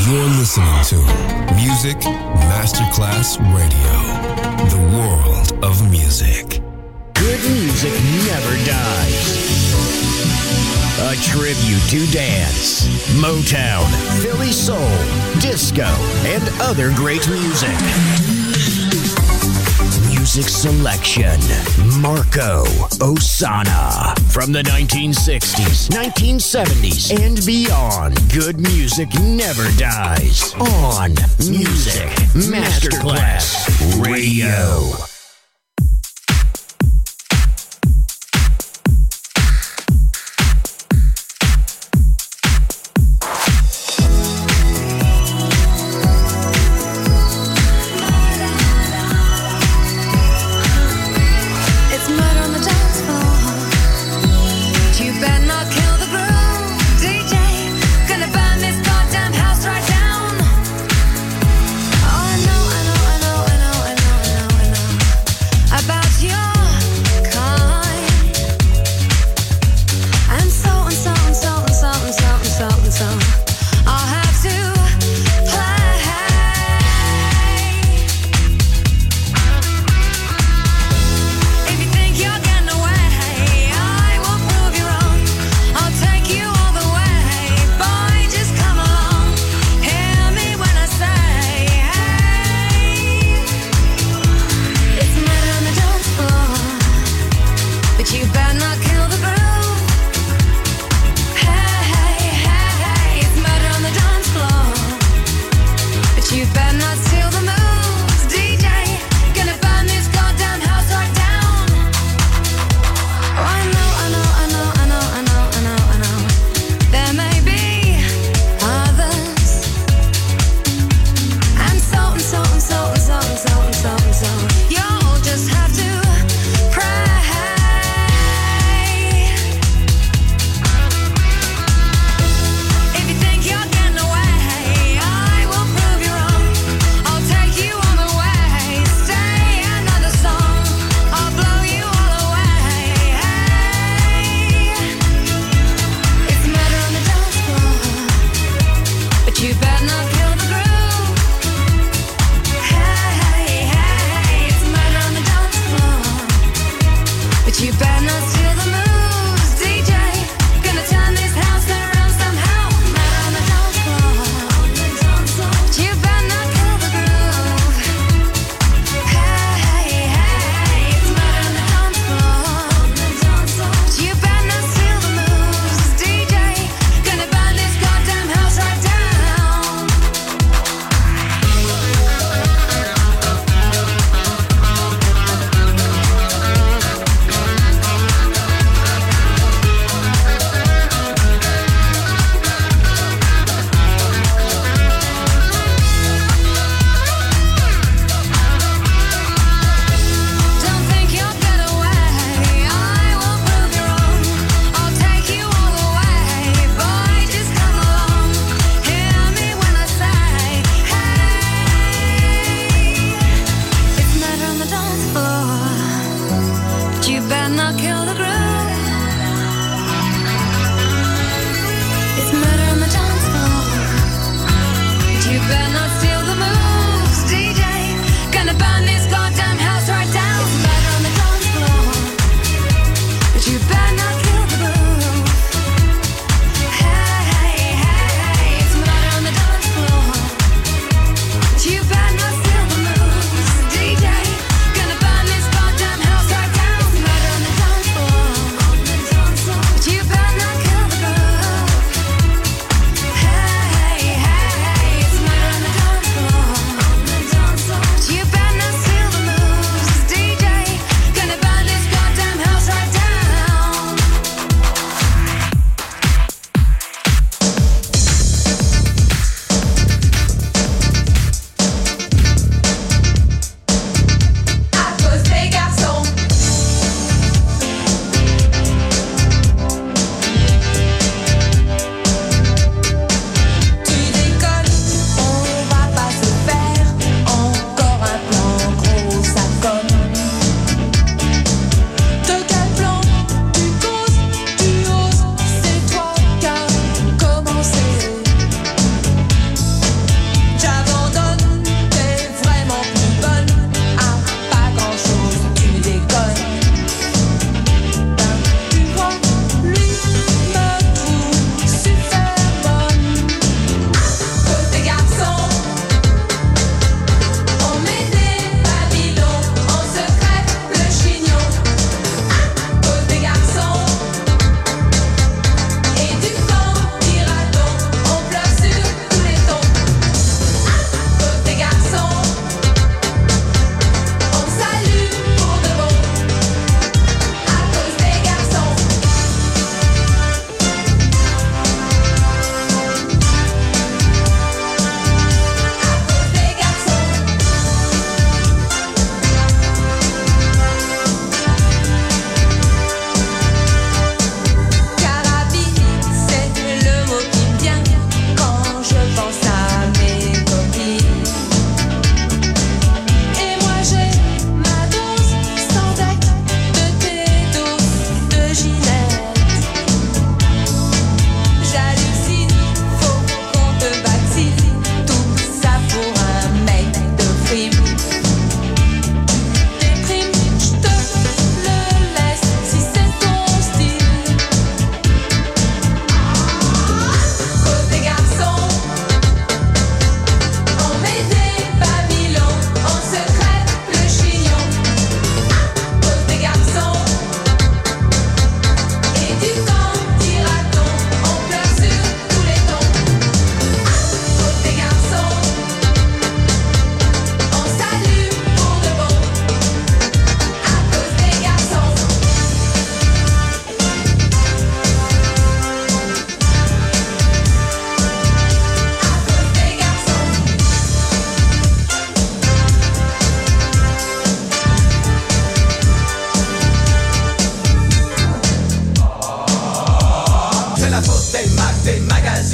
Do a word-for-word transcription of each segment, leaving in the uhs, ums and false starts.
You're listening to Music Masterclass Radio, the world of music. Good music never dies. A tribute to dance, Motown, Philly soul, disco, and other great music. Music selection, Marco Ossanna. From the nineteen sixties, nineteen seventies, and beyond, good music never dies. On Music Masterclass Radio. I know, I know, I know, I know, I know, I know.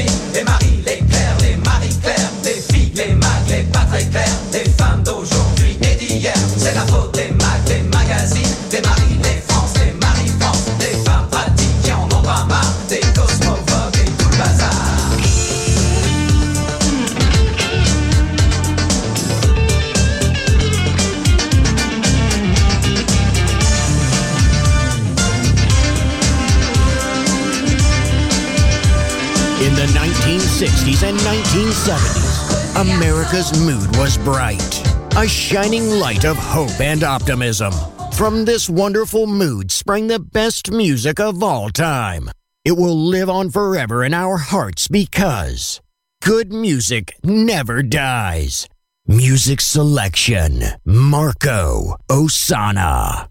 magazines, les maris, les clairs, les marie-claires, les filles, les mags, les pas très clairs, les femmes d'aujourd'hui et d'hier. C'est la faute des mags, des magazines, des maris, des France, des marie-France, des femmes pratiques qui en ont pas marre, des cosmophobes et tout le bazar. In the nineteen sixties and nineteen seventies, America's mood was bright, a shining light of hope and optimism. From this wonderful mood sprang the best music of all time. It will live on forever in our hearts because good music never dies. Music selection, Marco Ossanna.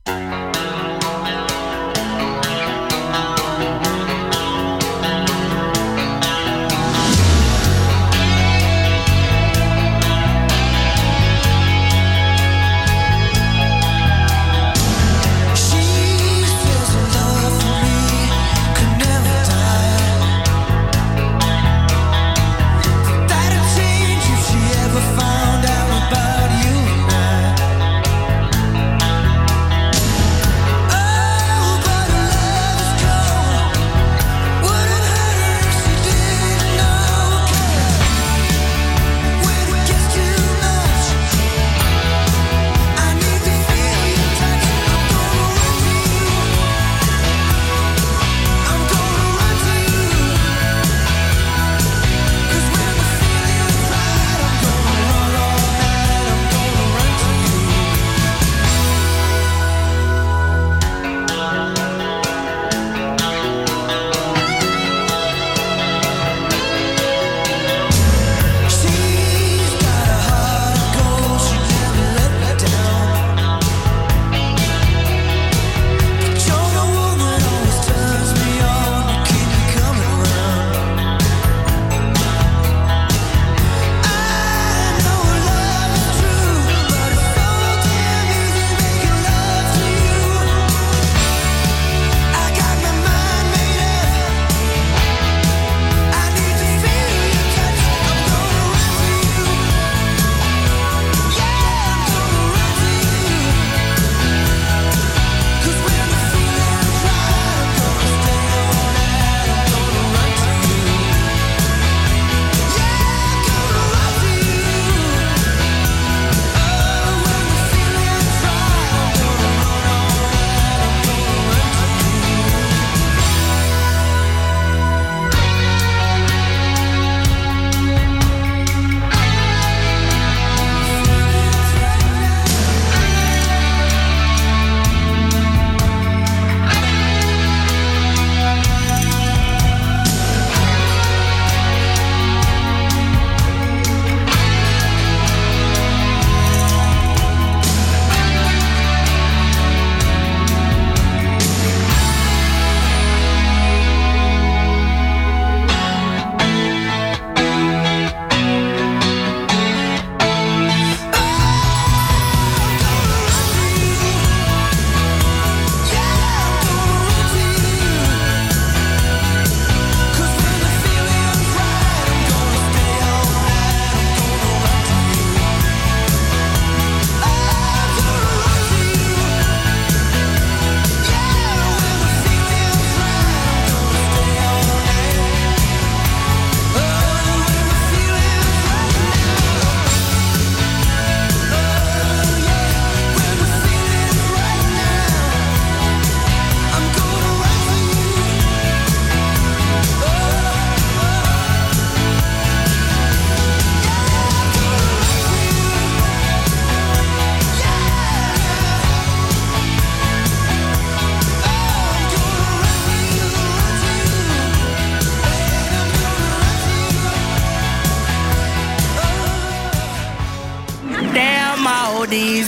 these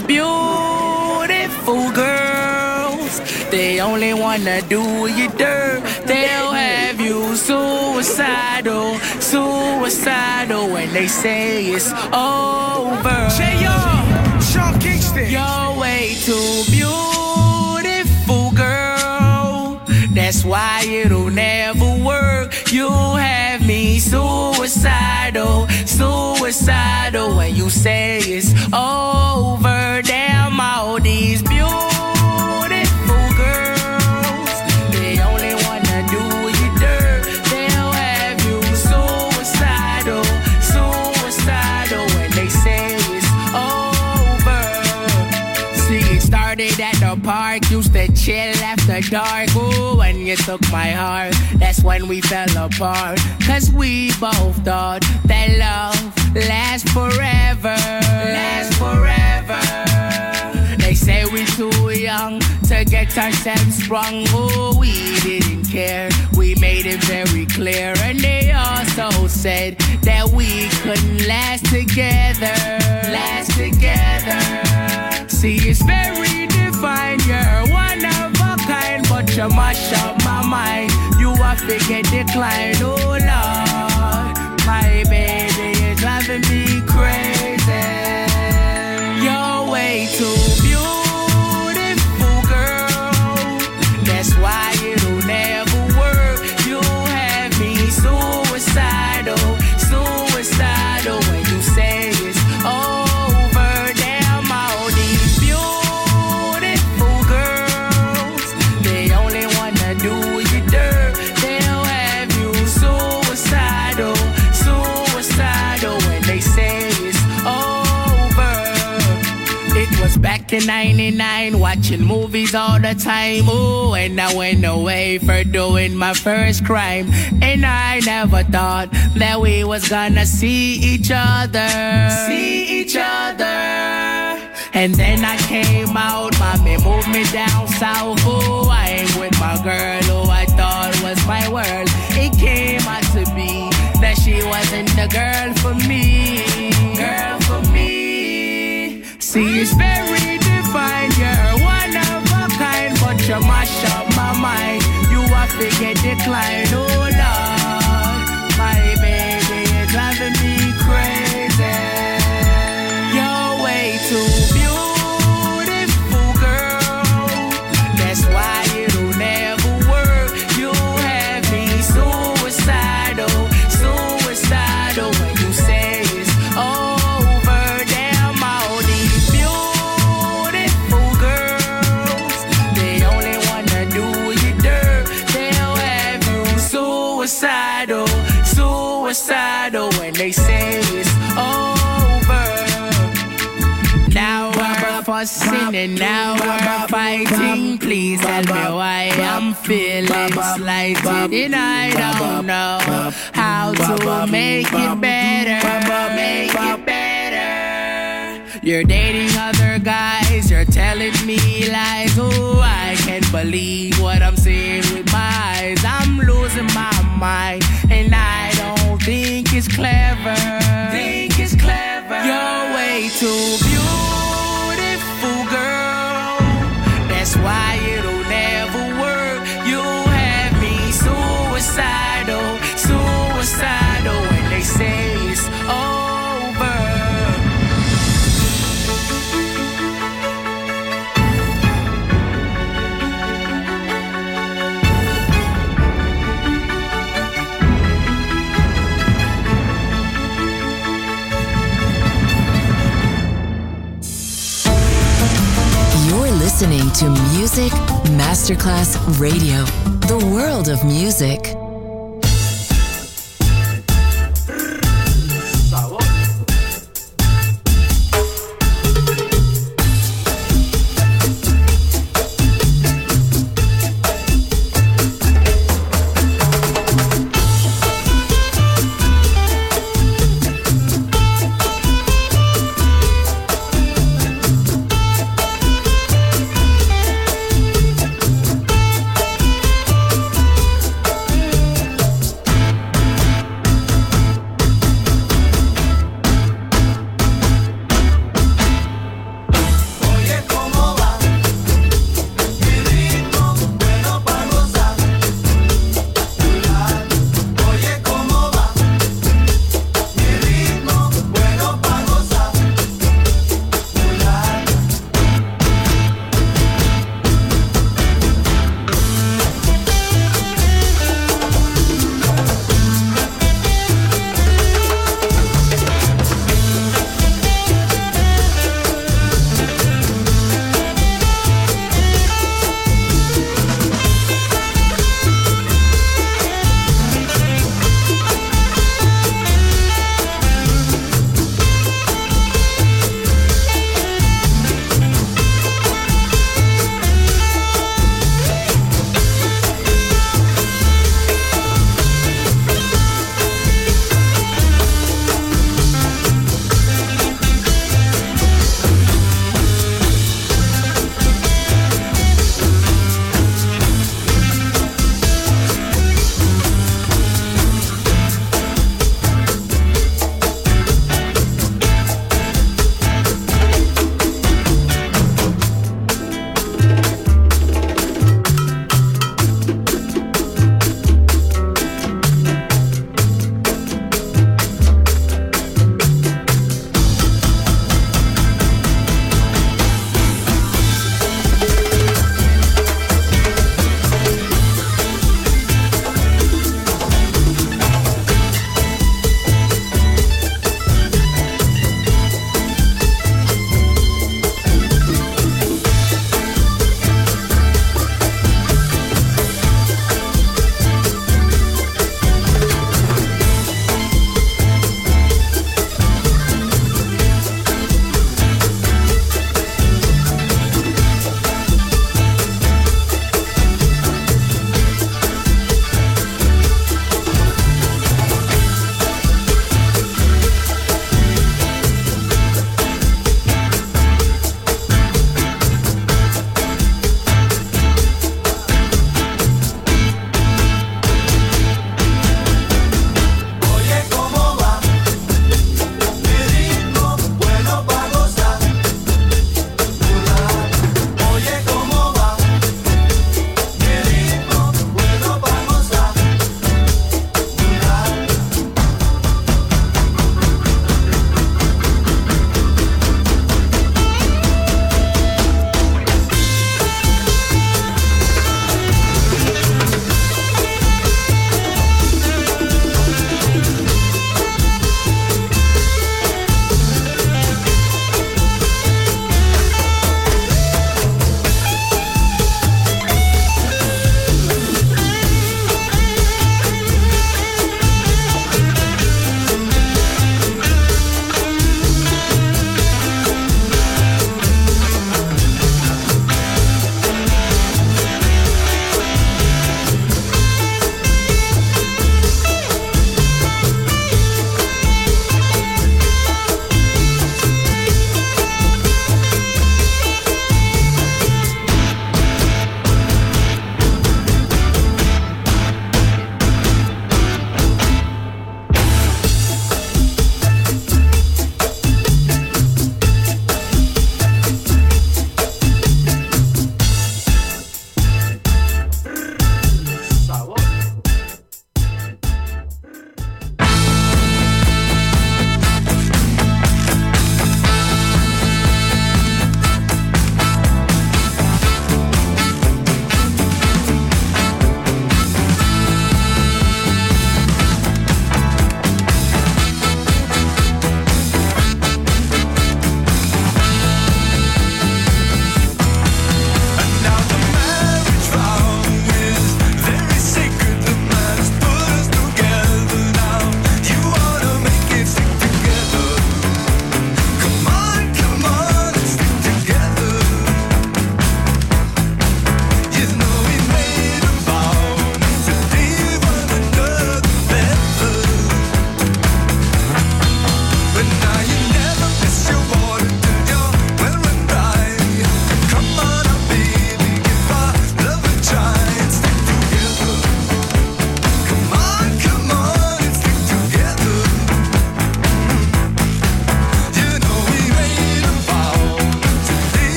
beautiful girls, they only wanna do you dirt. They'll have you suicidal, suicidal when they say it's over. J R, Sean Kingston. You're way too beautiful, girl. That's why it'll never work. You have me suicidal. suicidal, suicidal when you say it's over. Damn, all these beautiful girls, they only wanna do you dirt. They'll have you suicidal, suicidal when they say it's over. See, it started at the park, used to chill after dark. Ooh, when you took my heart, that's when we fell apart. Cause we both thought that love lasts forever, lasts forever. They say we're too young to get ourselves sprung. Oh, we didn't care, we made it very clear. And they also said that we couldn't last together, last together. See, it's very divine, you're one of a kind, but you mash up my mind. You are figure decline, oh Lord. My baby is driving me crazy. You're way too beautiful, girl. That's why it'll never work. You have me suicidal, suicidal when you say it's over. Damn, all these beautiful girls, they only wanna do you dirt. They'll have you suicidal, suicidal when they say it's over. It was back in ninety-nine, watching movies all the time. Ooh, and I went away for doing my first crime. And I never thought that we was gonna see each other, see each other. And then I came out, mommy moved me down south. Ooh, I ain't with my girl who I thought was my world. It came out to be that she wasn't the girl for me, girl for me. See, it's very divine, you're one of a kind, but you mash up my mind. You are figure decline, oh Lord. My baby is driving me crazy. You're way too beautiful, girl. That's why it'll never work. You have me suicidal, suicidal when you say it's over. Damn, all these beautiful girls, they only wanna do you dirt. They'll have you suicidal, suicidal when they say it's over. Now we're fussing and now we're fighting. Please tell me why I'm feeling slighted, and I don't know how to make it better, make it better. You're dating other guys, you're telling me lies. Oh, I can't believe what I'm seeing with my eyes. I'm losing my mind, and I don't think it's clever. Think it's clever. You're way too beautiful, girl. That's why it'll never work. You have me suicidal, suicidal when they say it's over. Listening to Music Masterclass Radio, the world of music.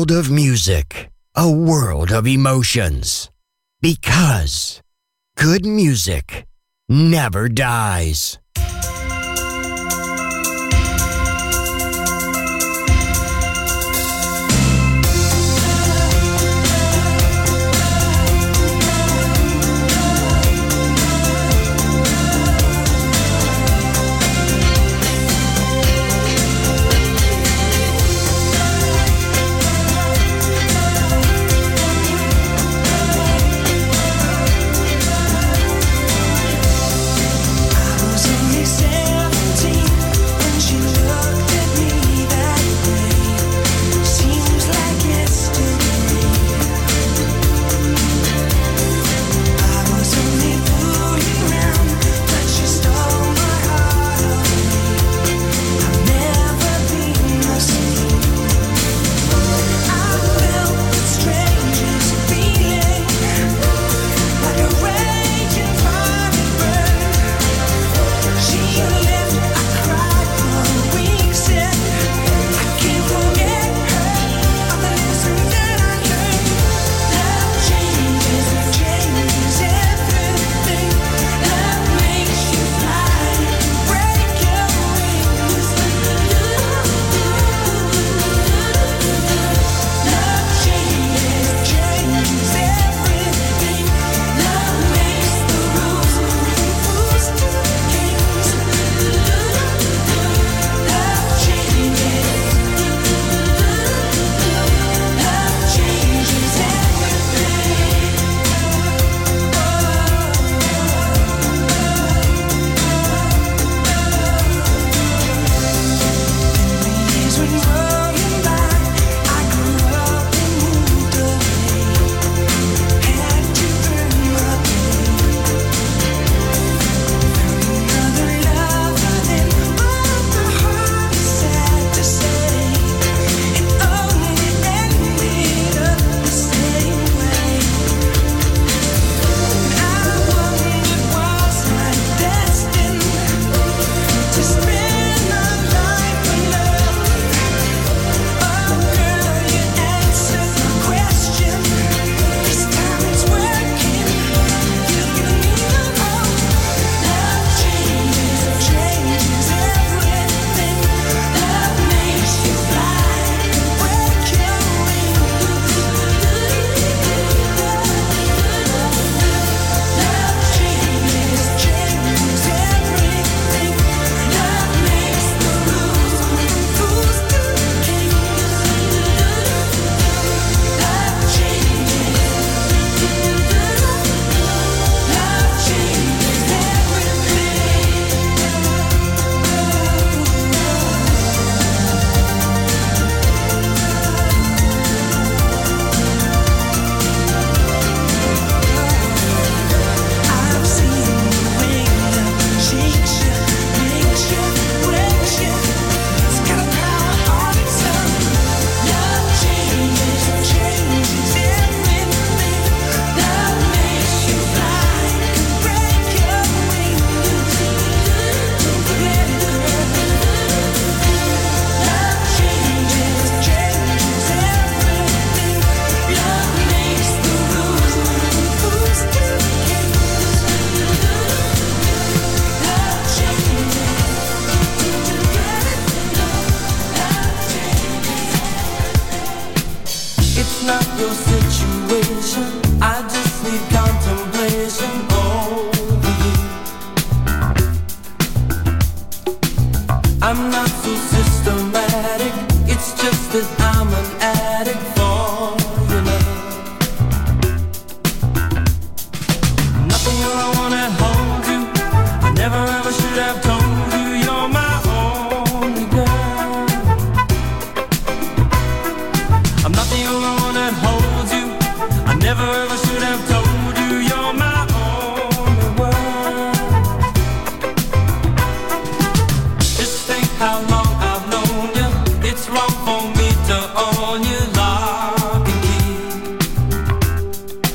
world of music, a world of emotions. Because good music never dies.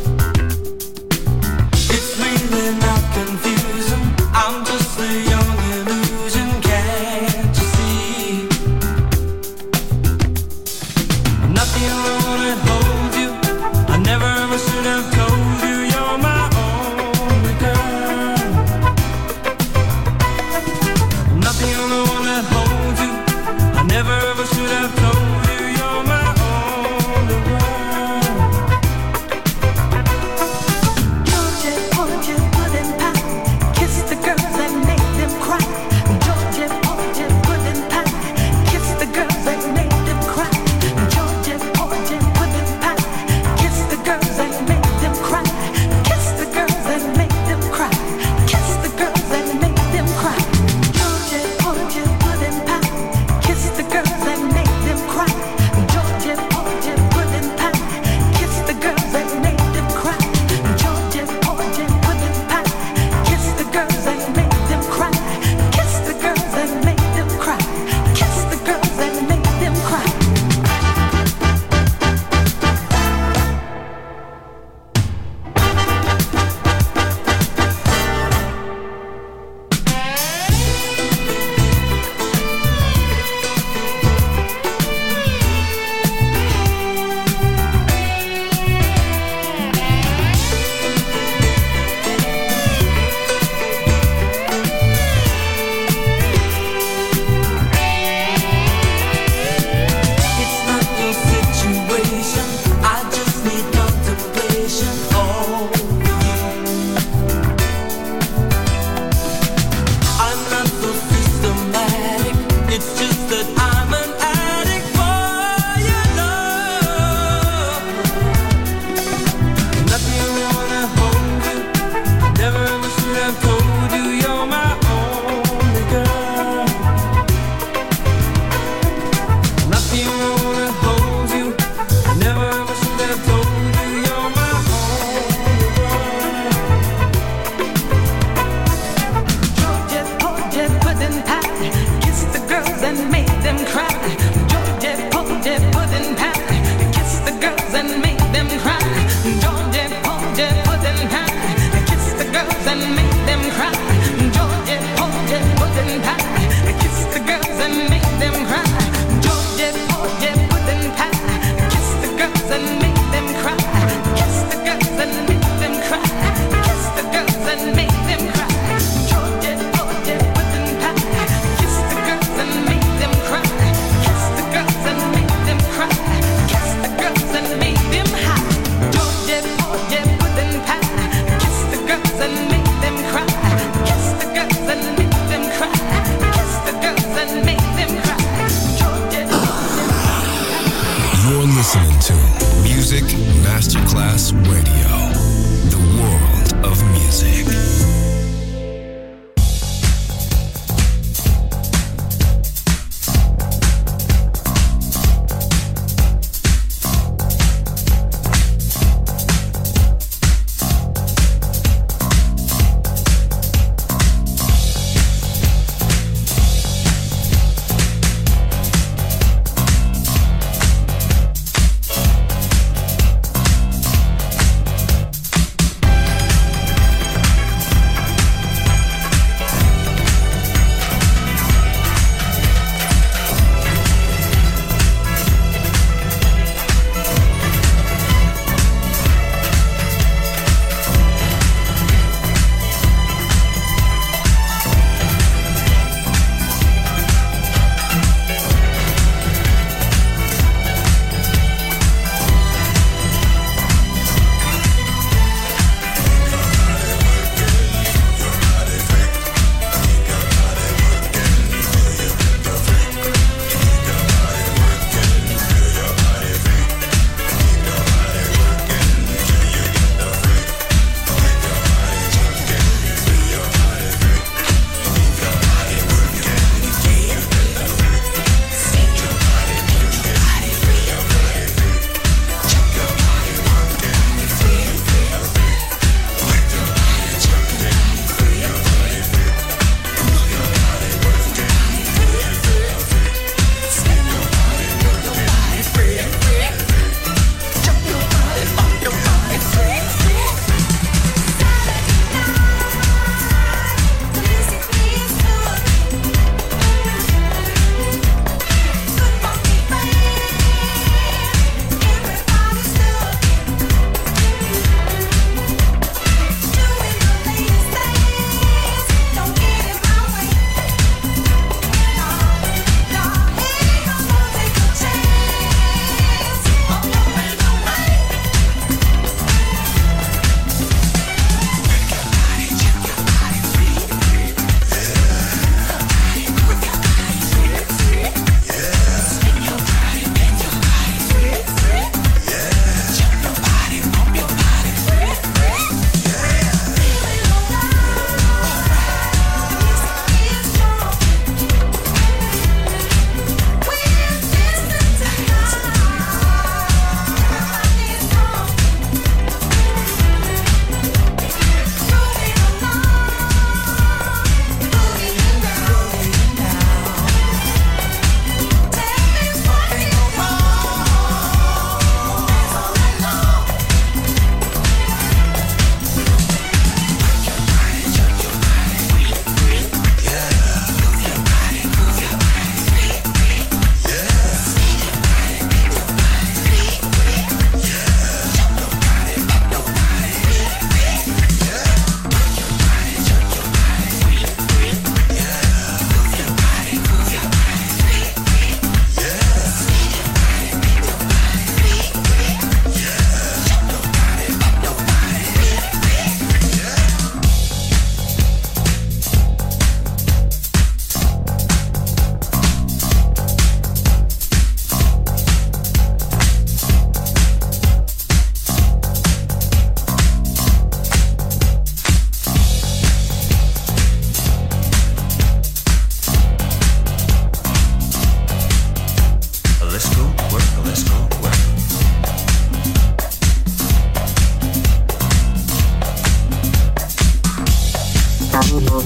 It's really not confusing. I'm just a young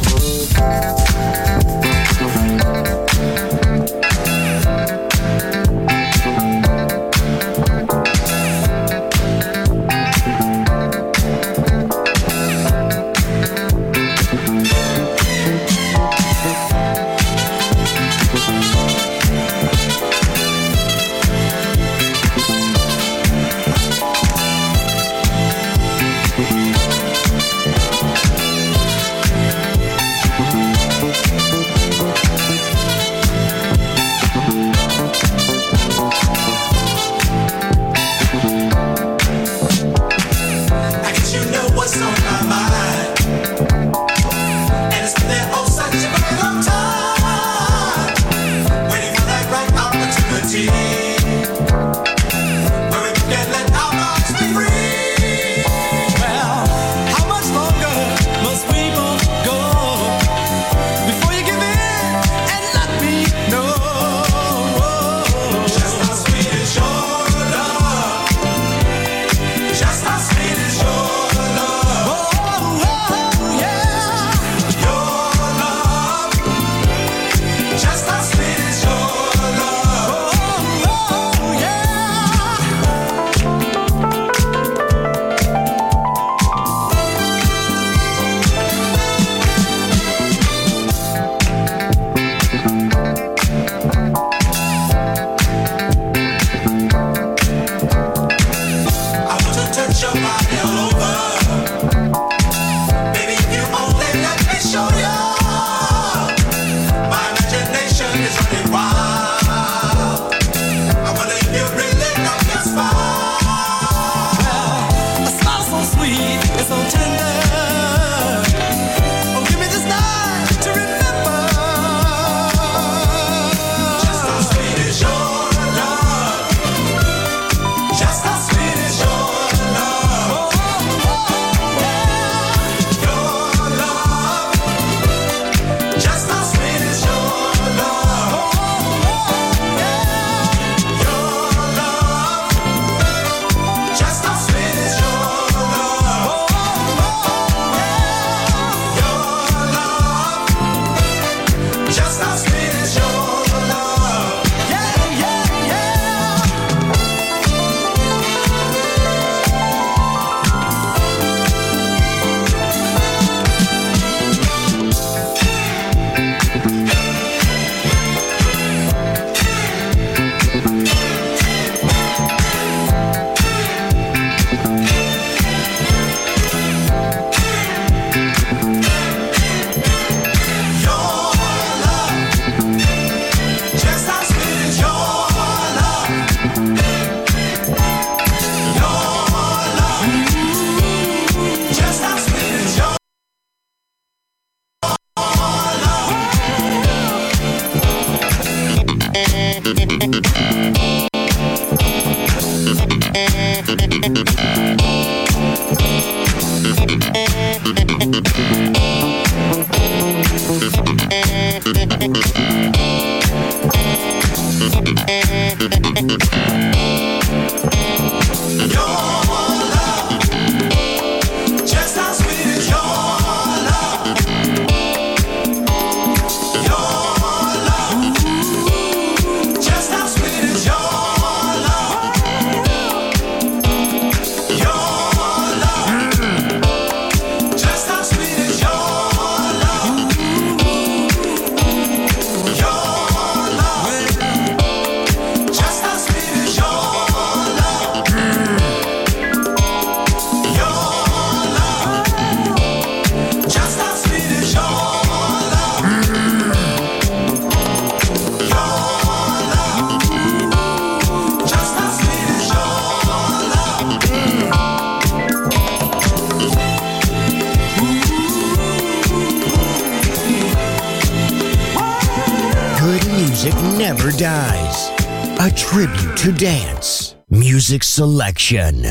Never dies. A tribute to dance. Music selection.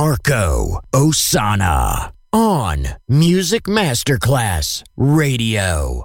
Marco Ossanna. On Music Masterclass Radio.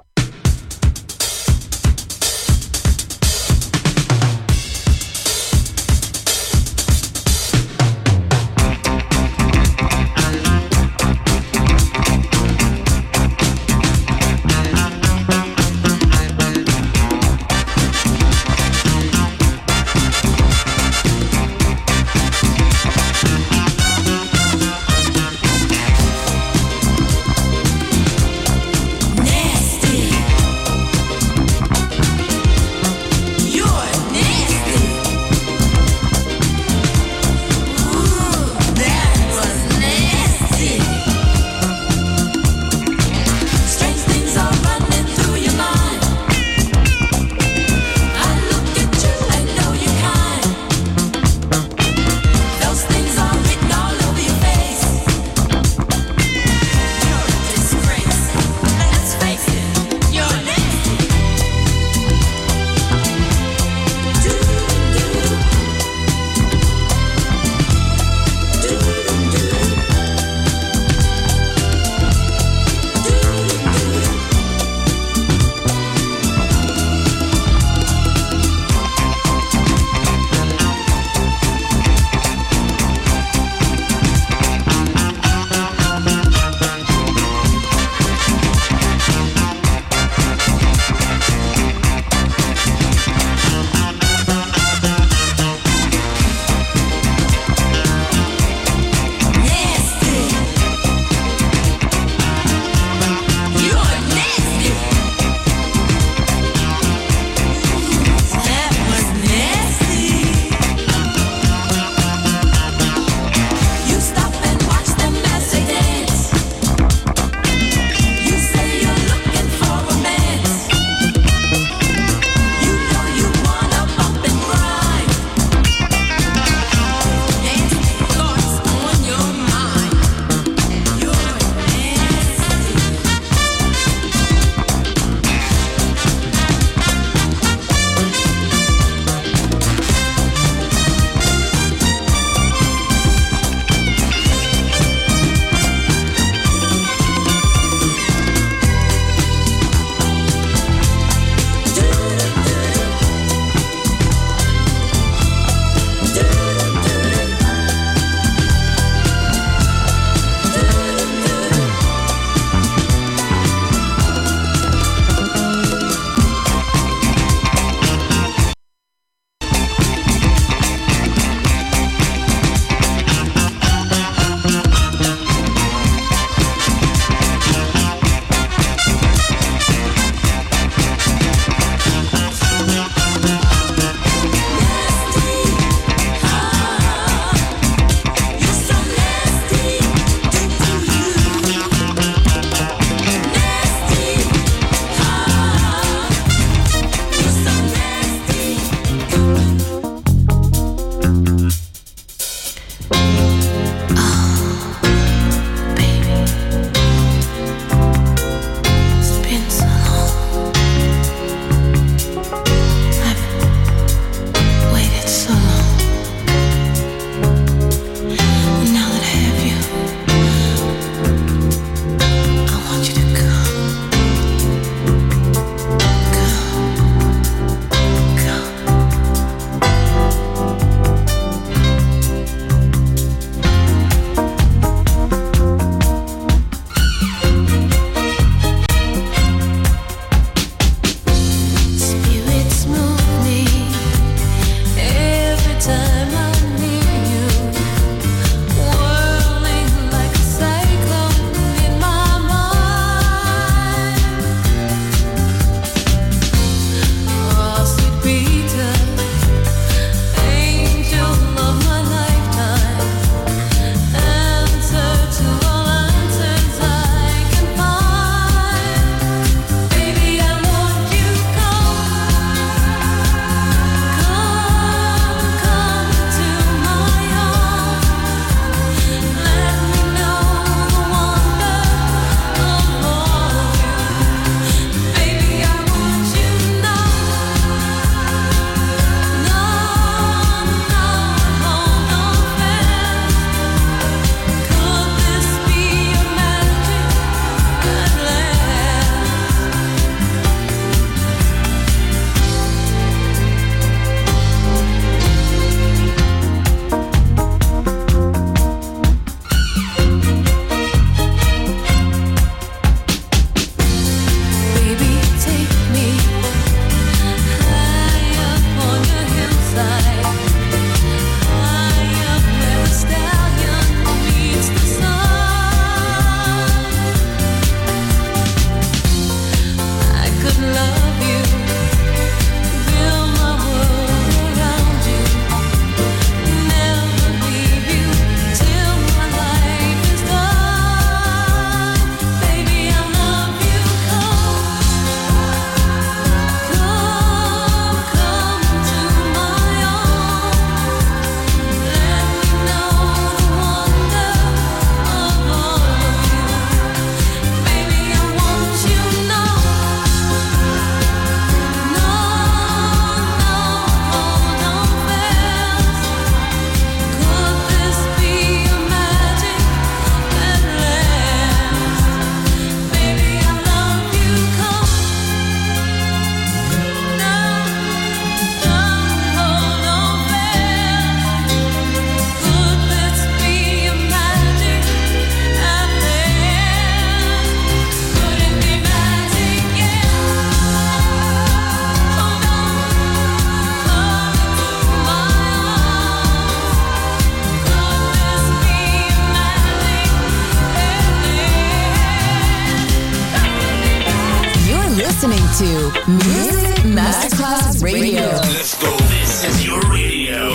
listening to Music Masterclass Radio. Let's go. This is your radio.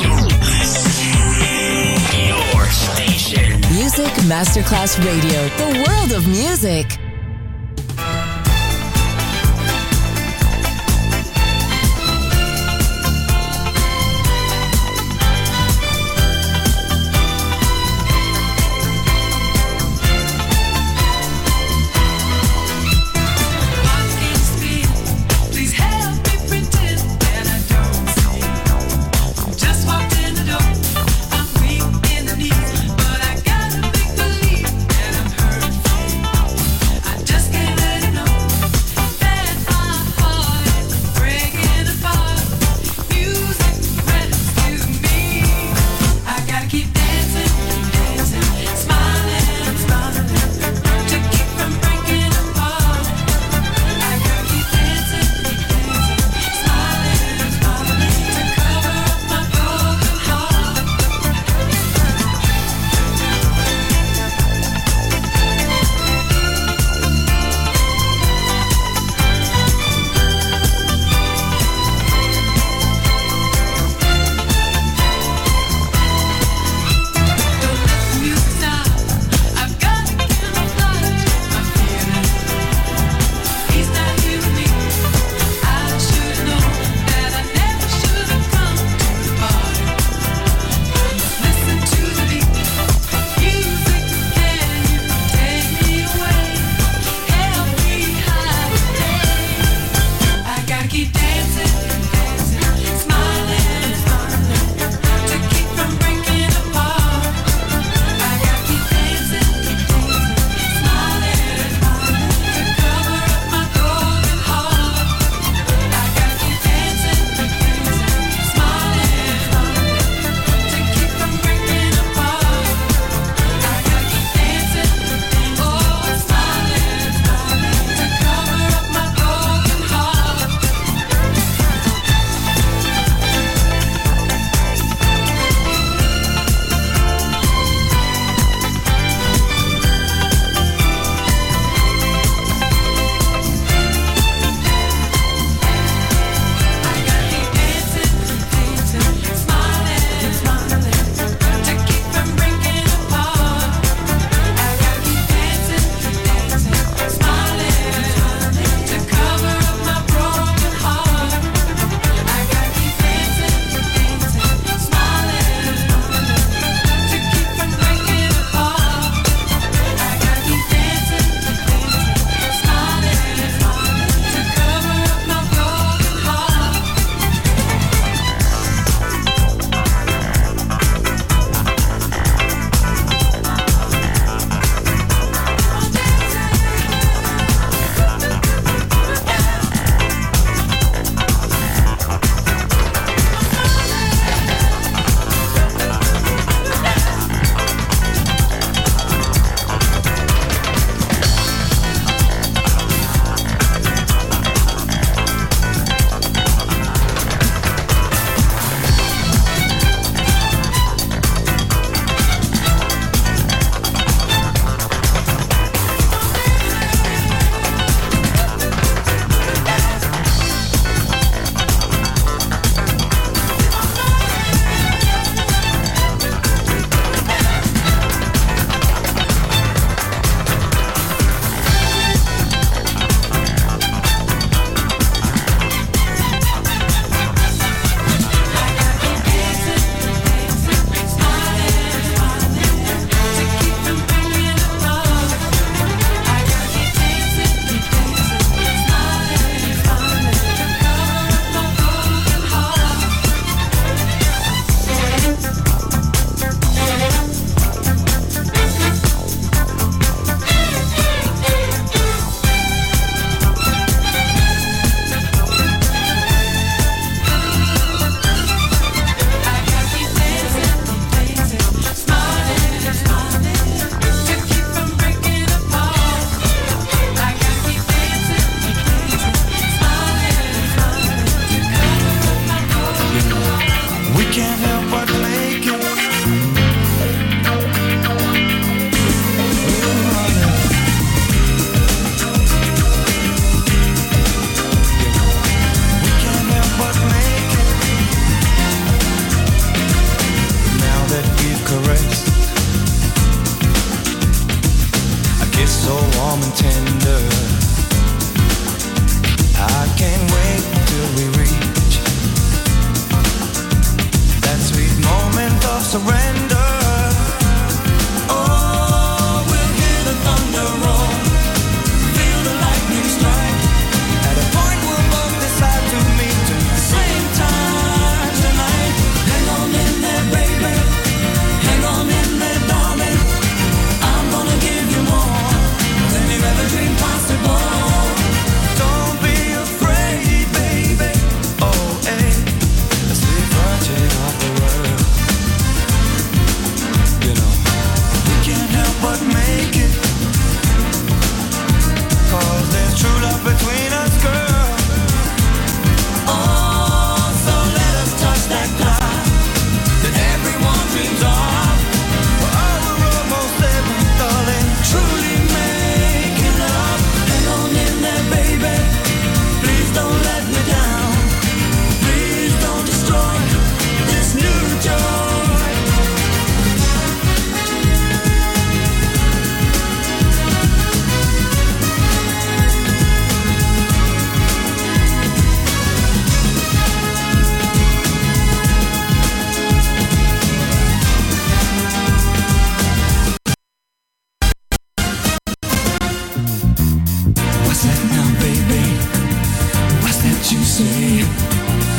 Your station. Music Masterclass Radio. The world of music. But I gotta make believe that I'm hurt.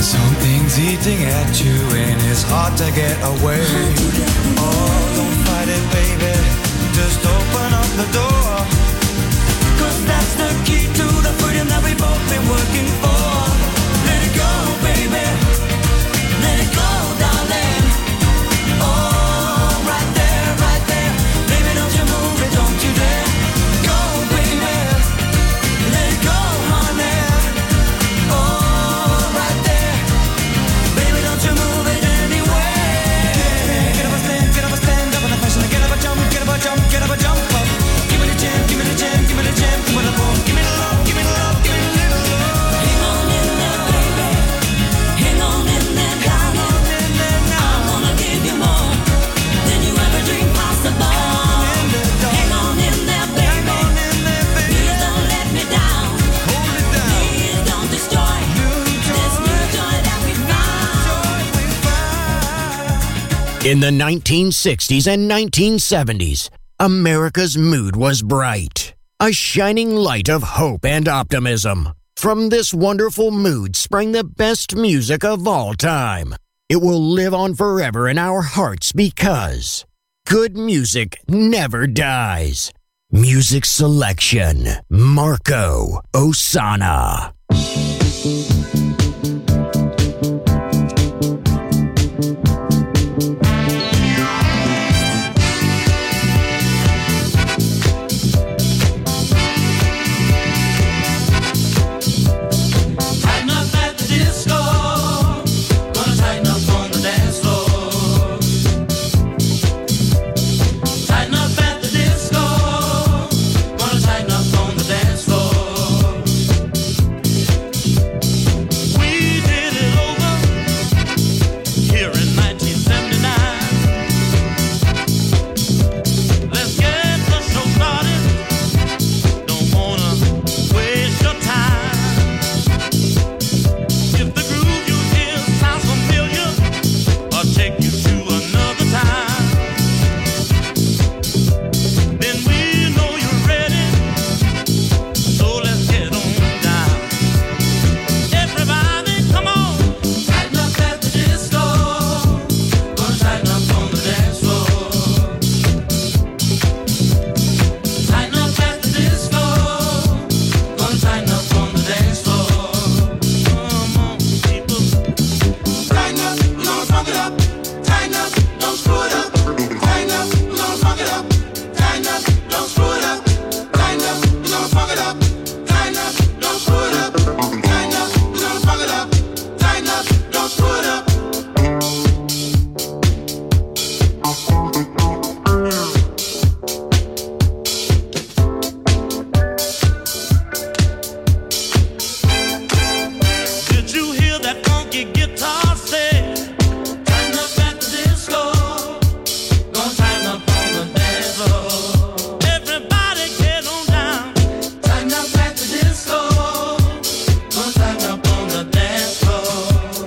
Something's eating at you and it's hard to get away. Oh, don't fight it, baby. Just open up the door. Cause that's the key to the freedom that we've both been working for. Let it go, baby. Let it go, darling. Oh, right there, right there. Baby, don't you move it, don't you dare. Go, baby. Let it go, honey. Oh, right there. Baby, don't you move it anywhere. Get up a stand, get up a stand up in the fashion. Get up a jump, get up a jump, get up a jump up. Give me the jam, give me the jam, give me the jam, give me the boom, give me the love, give me the love, give me the little love. Hang on in there, baby. Hang on in there, darling. I wanna give you more than you ever dreamed possible. Hang on in there, baby. Please don't let me down. Please don't destroy this new joy that we found. In the nineteen sixties and nineteen seventies, America's mood was bright, a shining light of hope and optimism. From this wonderful mood sprang the best music of all time. It will live on forever in our hearts because good music never dies. Music selection, Marco Ossanna. Tighten up at the disco. Gonna tighten up on the dance floor. Tighten up at the disco. Gonna tighten up on the dance floor. We did it over here in nineteen seventy-nine. Let's get the show started. Don't wanna waste your time. If the groove you hear sounds familiar, I'll take you to another time. Then we know you're ready, so let's get on down. Everybody, come on. Tighten up at the disco. Gonna tighten up on the dance floor. Tighten up at the disco. Gonna tighten up on the dance floor. Come on, people. Tighten up, we're gonna funk it up. Tighten up, don't screw it up. Tighten up, we're gonna funk it up. Tighten up, don't screw it up. Tighten up, we're gonna funk it up. Tighten up, don't screw it up. Tighten up, we're gonna funk it up. Tighten up, don't screw it up. Did you hear that funky guitar say? Tighten up at the disco. Gonna tighten up on the dance floor. Everybody get on down. Tighten up at the disco. Gonna tighten up on the dance floor.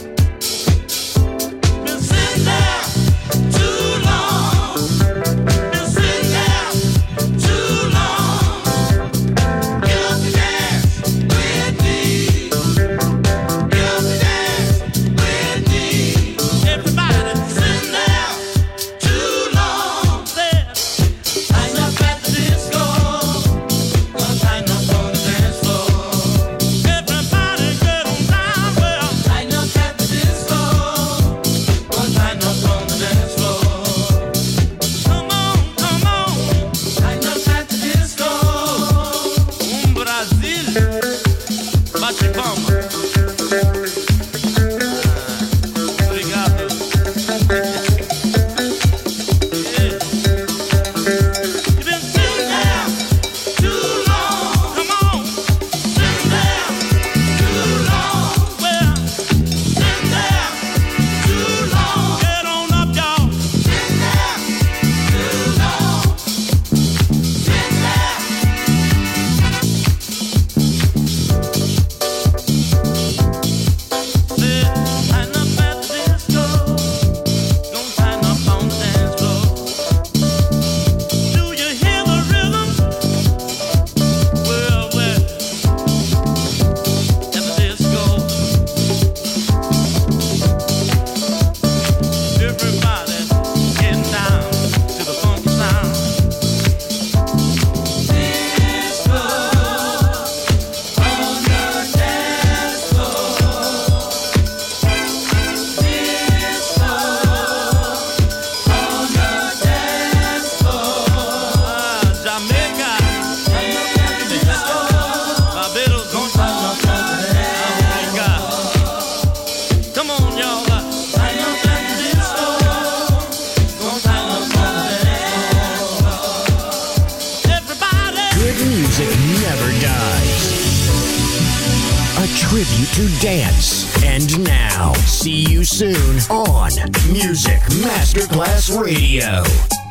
Been sitting there too long. Been sitting there too long. Get up and dance with me. Get up and dance with me. Everybody sitting there too long. There. Tighten up at the disco. Gonna tighten up on the dance floor. Everybody get on down. Well, tighten up at the disco. Gonna tighten up on the dance floor. Come on, come on. Tighten up at the disco. Um Brasil. Bate palma. Obrigado. Yeah. You've been sitting there too long. Come on. Sitting there too long. Well, sitting there too long. Get on up, y'all. Sitting there too long. Sitting there. music never dies. A tribute to dance. And now, see you soon on Music Masterclass Radio.